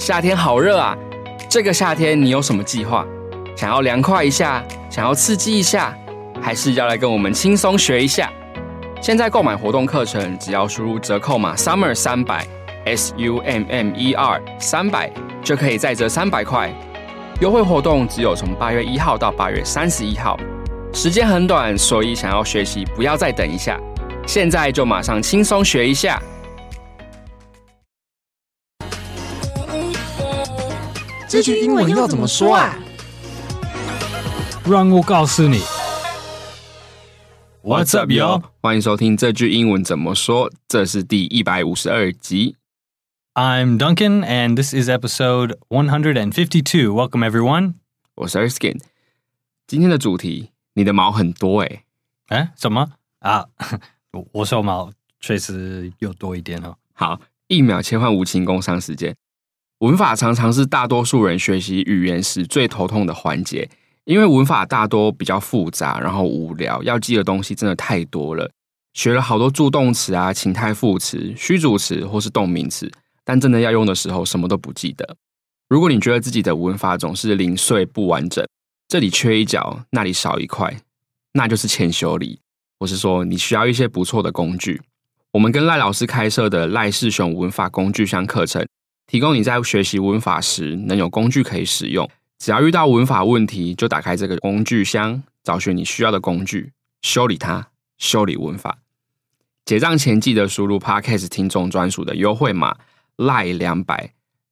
夏天好熱啊！這個夏天你有什麼計劃？想要涼快一下，想要刺激一下，還是要來跟我們輕鬆學一下？現在購買活動課程，只要輸入折扣碼 SUMMER 300 SUMMER 300，就可以再折300塊。優惠活動只有從8月1號到8月31號，時間很短，所以想要學習不要再等一下，現在就馬上輕鬆學一下。 這句英文要怎麼說啊？ 讓我告訴你。What's up, yo？ 歡迎收聽這句英文怎麼說，這是第152集。 I'm Duncan, and this is episode 152. Welcome, everyone. 我是 Erskine。今天的主題，你的毛很多欸。 什麼啊？我手毛確實有多一點哦。 好，1秒切換無情工商時間。文法常常是大多數人學習語言時最頭痛的環節，因為文法大多比較複雜，然後無聊，要記的東西真的太多了。學了好多助動詞啊、情態副詞、虛主詞或是動名詞，但真的要用的時候什麼都不記得。如果你覺得自己的文法總是零碎不完整，這裡缺一角，那裡少一塊，那就是欠修理，或是說你需要一些不錯的工具。我們跟賴老師開設的賴世雄文法工具箱課程，提供你在學習文法時能有工具可以使用。只要遇到文法問題，就打開這個工具箱，找尋你需要的工具，修理它，修理文法。結賬前記得輸入 Podcast 聽眾專屬的優惠碼 LAI200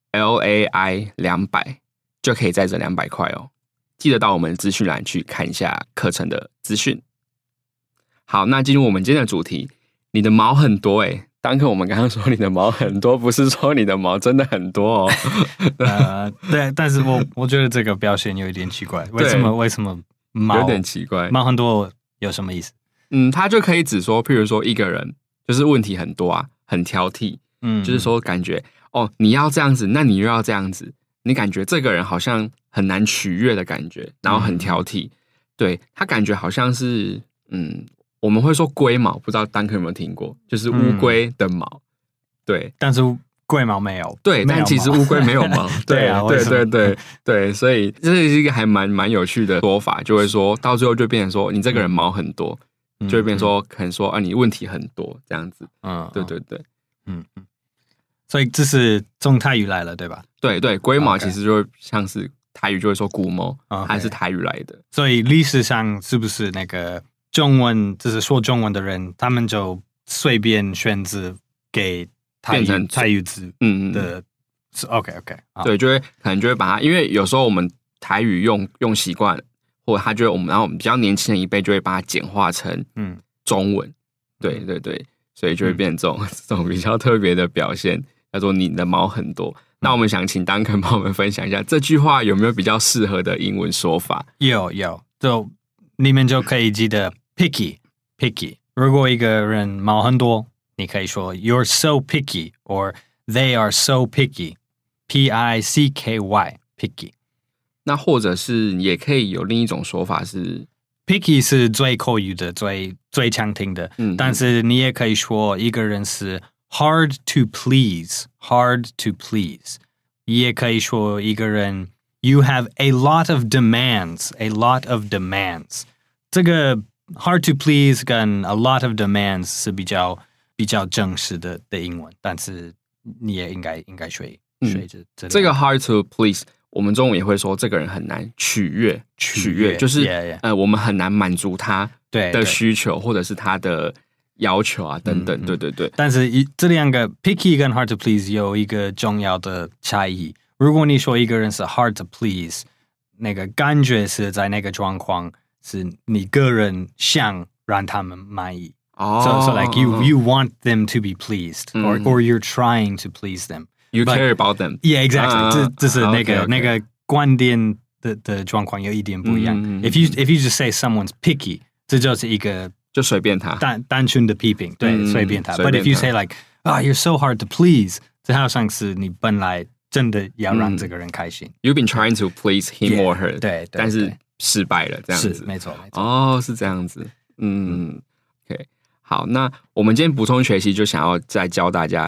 LAI 200，就可以再折200塊哦。記得到我們的資訊欄去看一下課程的資訊。好，那進入我們今天的主題，你的毛很多欸。當課我們剛剛說你的毛很多，不是說你的毛真的很多哦。 對，但是我覺得這個表現有一點奇怪。為什麼毛有點奇怪？ 毛很多有什麼意思？ 他就可以指說，譬如說一個人就是問題很多啊，很挑剔，就是說感覺你要這樣子，那你又要這樣子，你感覺這個人好像很難取悅的感覺，然後很挑剔，對，他感覺好像是我們會說龜毛，不知道丹克有沒有聽過，就是烏龜的毛，對， 但是龜毛沒有， 對，但其實烏龜沒有毛，對啊，對，所以這是一個還蠻有趣的說法，就會說到最後就變成說你這個人毛很多，就會變成說可能說你問題很多這樣子，對， 所以這是從台語來了，對吧？ 對，龜毛其實就會像是台語就會說龜毛，還是台語來的， 所以歷史上是不是那個？中文就是說中文的人，他們就隨便選字給變成台語字的，OK， 對，可能就會把它，因為有時候我們台語用習慣，或者他就然後我們比較年輕的一輩就會把它簡化成中文，對，所以就會變成這種比較特別的表現，叫做你的毛很多。那我們想請Duncan幫我們分享一下這句話有沒有比較適合的英文說法？ 有，就你們就可以記得。Picky. 如果一個人毛很多，你可以說 You're so picky, or They are so picky. P-I-C-K-Y. Picky. 那或者是也可以有另一種說法是 Picky 是最口語的，最常聽的。但是你也可以說一個人是 hard to please. Hard to please. 也可以說一個人 You have a lot of demands. A lot of demands. 這個Hard to please 跟 a lot of demands 是比較正式的英文，但是你也應該學這個 hard to please， 我們中文也會說這個人很難取悅，就是我們很難滿足他的需求或者是他的要求啊等等，對。 但是這兩個 picky 跟 hard to please 有一個重要的差異。如果你說一個人是 hard to please， 那個感覺是在那個狀況。是你個人想讓他們滿意，so like you want them to be pleased, or you're trying to please them. You care about them. Yeah, exactly. 這是那個觀點的狀況有一點不一樣。If you just say someone's picky， 這就是一個就隨便他單純的批評，對，隨便他。But if you say like you're so hard to please， 這好像是你本來真的要讓這個人開心。 You've been trying to please him or her， 對， 但是失敗了，這樣子， 是沒錯。 是這樣子。OK， 好，那我們今天補充學習就想要再教大家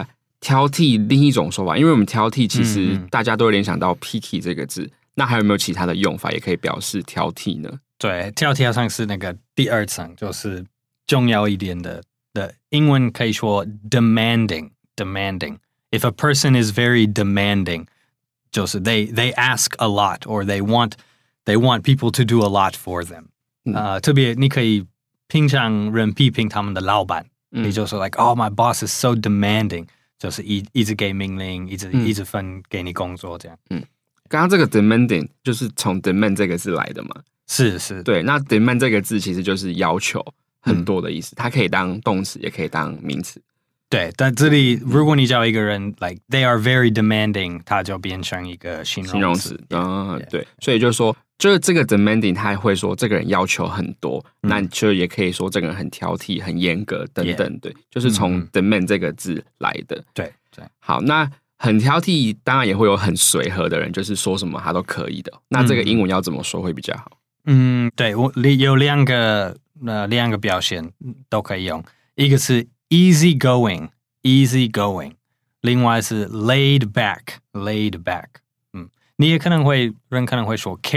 挑剔另一種說法，因為我們挑剔其實大家都會聯想到 picky 這個字，那還有沒有其他的用法也可以表示挑剔呢？ 对，挑剔好像是那個第二層，就是重要一點的英文可以說 demanding. If a person is very demanding, 就是 they ask a lot or they want people to do a lot for them. 特別你可以平常人批評他們的老闆，你就說 like, oh, my boss is so demanding. 就是一直給命令，一直分給你工作這樣。 剛剛這個 demanding 就是從 demand 這個字來的嘛？ 是， 對。那 demand 這個字其實就是要求很多的意思，它可以當動詞，也可以當名詞。 對，但這裡如果你叫一個人 like they are very demanding， 它就變成一個形容詞。 對，所以就是說，就是這個 demanding， 他會說這個人要求很多，那就也可以說這個人很挑剔、很嚴格等等。對，就是從 demand 這個字來的。對。好，那很挑剔，當然也會有很隨和的人，就是說什麼他都可以的。那這個英文要怎麼說會比較好？ 對，我有兩個表現都可以用，一個是easy going， 另外是 laid back。你也人可能會說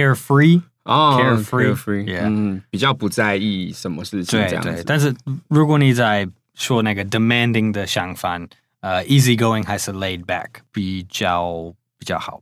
carefree， 比較不在意什麼事情這樣子。 對，但是如果你在說那個 demanding 的相反，easy going 還是 laid back 比較好。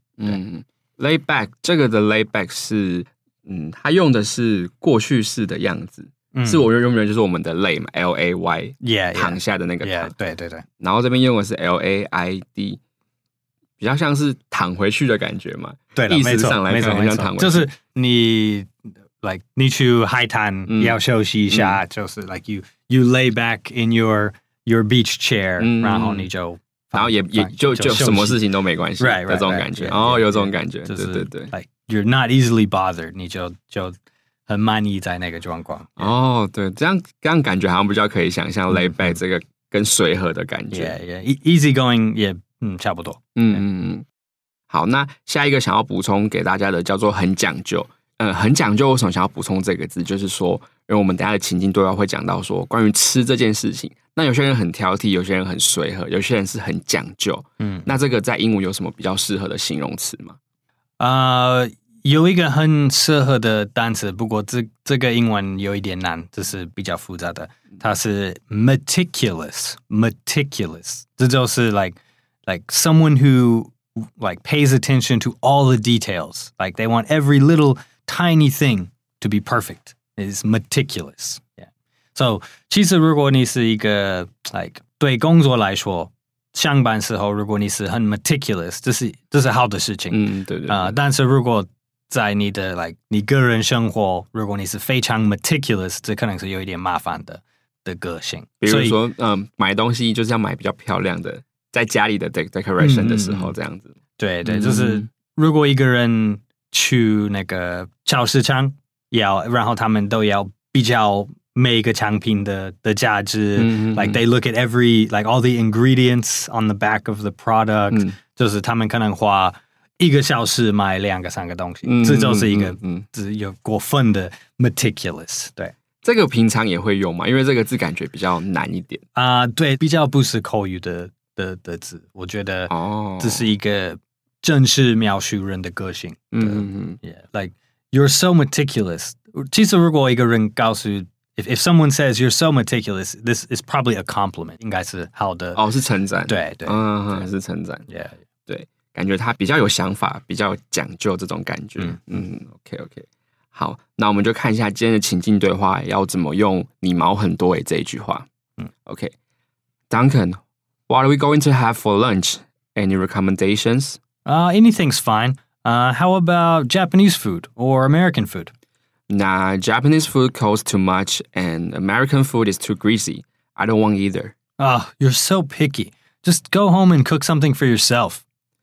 laid back 這個的 laid back 是它用的是過去式的樣子。是我用的就是我們的 lay 嘛 ，L-A-Y， 躺下的那個躺， 對。 然後這邊用的是 L-A-I-D， 比較像是躺回去的感覺嘛。 對， 意思上來看很像躺回去。 就是你去海灘要休息一下，就是 like you lay back in your beach chair，然後你就也就什麼事情都沒關係的這種感覺。有這種感覺，對。 like you're not easily bothered， 你就很滿意在那個狀況。 對，這樣感覺好像比較可以想象 lay back 這個跟隨和的感覺。 easy going 也差不多。 好，那下一個想要補充給大家的叫做很講究。很講究，為什麼想要補充這個字？就是說，因為我們等一下的情境對話會講到說關於吃這件事情。那有些人很挑剔，有些人很隨和，有些人是很講究。那這個在英文有什麼比較適合的形容詞嗎？ 有一個很適合的單詞，不過這個英文有一點難，這是比較複雜的。它是 meticulous， 這就是 like someone who like pays attention to all the details, like they want every little tiny thing to be perfect. Is meticulous. Yeah. So 其實如果你是一個 like 對工作來說，上班時候如果你是很 meticulous， 這是好的事情。對。但是如果在你的 like 你個人生活，如果你是非常 meticulous， 這可能是有一點麻煩的個性。 比如說，買東西就是要買比較漂亮的，在家裡的 decoration 的時候，這樣子。 對，就是如果一個人去那個超市場，然後他們都要比較每個產品的價值，like they look at like all the ingredients on the back of the product，就是他們可能花1個小時買2個3個東西，這就是一個只有過分的 meticulous。對， 這個平常也會用嘛，因為這個字感覺比較難一點對，比較不是口語的字，我覺得這是一個正式描述人的個性。like you're so meticulous。其實如果一個人告訴If someone says you're so meticulous, this is probably a compliment， 應該是好的。 是稱讚。 對， 是稱讚。對，感覺他比較有想法，比較講究這種感覺。OK。好，那我們就看一下今天的情境對話要怎麼用“你毛很多”這一句話。OK， Duncan, what are we going to have for lunch? Any recommendations? Anything's fine. How about Japanese food or American food? Nah, Japanese food costs too much and American food is too greasy. I don't want either. You're so picky. Just go home and cook something for yourself.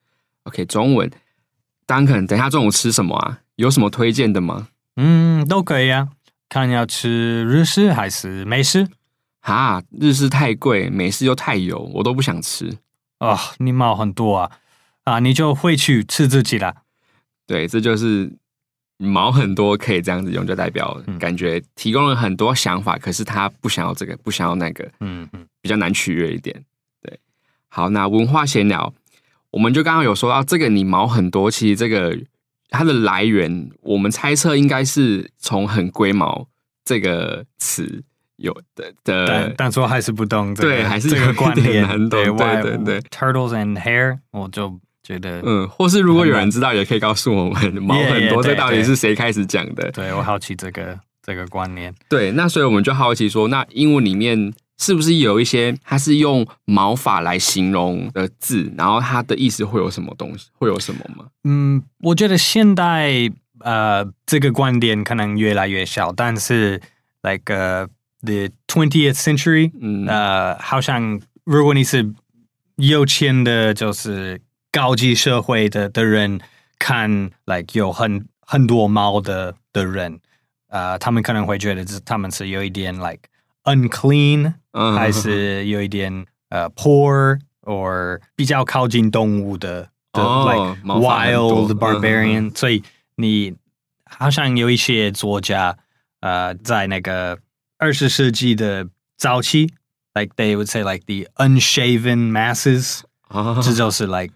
OK， 中文 Duncan， 等一下中午吃什麼啊？有什麼推薦的嗎？ 都可以啊。看要吃日式還是美式？ 日式太貴，美式又太油，我都不想吃。 你毛很多啊！你就回去吃自己啦。 對，這就是毛很多可以這樣子用，就代表感覺提供了很多想法，可是他不想要這個，不想要那個，比較難取悅一點。對， 好，那文化閒聊，我們就剛剛有說到這個你毛很多，其實這個它的來源，我們猜測應該是從很龜毛這個詞有的， 但說還是不懂這個， 對，還是這個關聯難懂，對 ，turtles and hair， 我就覺得， 或是如果有人知道，也可以告訴我們毛很多，這到底是誰開始講的？ 對，我好奇這個觀念。對， 那所以我們就好奇說，那英文裡面是不是有一些它是用毛髮來形容的字，然後它的意思會有什麼東西？會有什麼嗎？ 我覺得現代這個觀點可能越來越小，但是 like the 20th century，好像如果你是有錢的，就是高級社會的人，看 like 有很多毛的人，他們可能會覺得他們是有一點 like unclean，還是有一點poor or 比較靠近動物的like wild barbarian，所以你好像有一些作家在那個20世紀的早期 like they would say like the unshaven masses， 這就是 like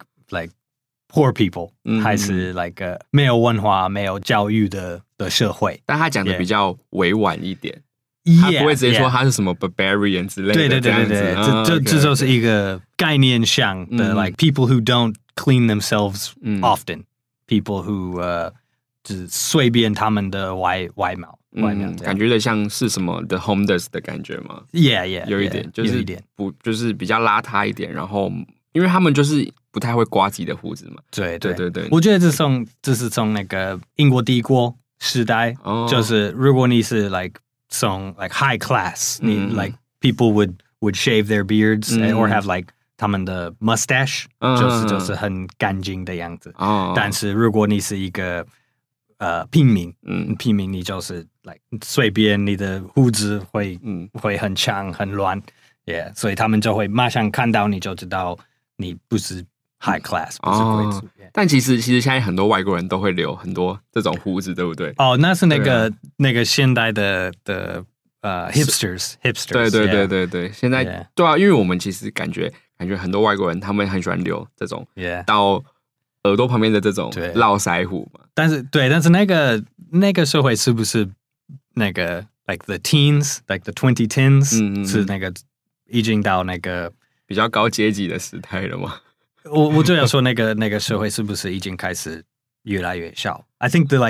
poor people， 還是 like 沒有文化沒有教育的社會， 但他講的比較委婉一點，他不會直接說他是什麼 barbarian 之類的， 對，這就是一個概念上的like people who don't clean themselves often， people who 只隨便他們的外貌，感覺的像是什麼 the homeless 的感覺嗎？ Yeah， 有一點，就是就是比較邋遢一點，然後因為他們就是不太會刮自己的鬍子嘛。對，我覺得這是從那個英國帝國時代，就是如果你是 like 從 like high class， 你 like people would shave their beards or have like 他們的 mustache， 就是很乾淨的樣子。但是如果你是一個平民，你就是 like 隨便你的鬍子會很長很亂，所以他們就會馬上看到你就知道你不是 high class， 不是貴族。 但其實現在很多外國人都會留很多這種鬍子，對不對？ 那是那個現代的hipsters， 對，現在對啊，因為我們其實感覺很多外國人他們很喜歡留這種到耳朵旁邊的這種絡腮鬍嘛。但是那個社會是不是那個 like the teens like the 2010s， 是那個已經到那個比較高階級的時代了嗎？ 我就要說那個社會是不是已經開始越來越小？I think the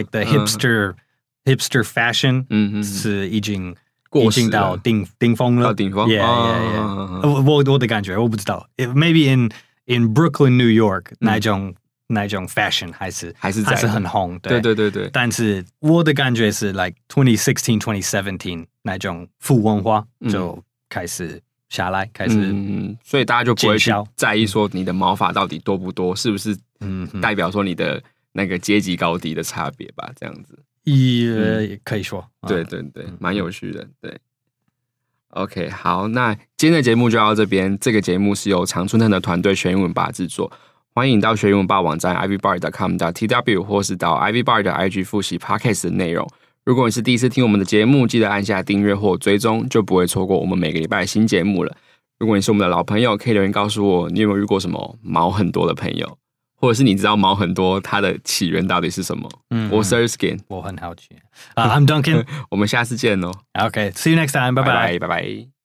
hipster fashion 是已經到頂峰了。到頂峰我的感覺我不知道 ，maybe in Brooklyn, New York 那種 fashion 還是很紅，對。但是我的感覺是 like 2016, 2017那種腐文化就開始下來， 所以大家就不會去在意說你的毛髮到底多不多，是不是代表說你的那個階級高低的差別吧？這樣子也可以說， 對，蠻有趣的，對。OK， 好，那今天的節目就到這邊。這個節目是由常春藤的團隊學英文吧製作。歡迎到學英文吧網站 ivybar.com.tw 或是到 ivybar 的 IG 複習 Podcast 的內容。如果你是第一次聽我們的節目，記得按下訂閱或追蹤，就不會錯過我們每個禮拜的新節目了。如果你是我們的老朋友，可以留言告訴我，你有沒有遇過什麼毛很多的朋友，或者是你知道毛很多它的起源到底是什麼？我是 Erskine， 我很好奇。I'm Duncan， 我們下次見哦。 Okay，see you next time，拜拜。 拜拜。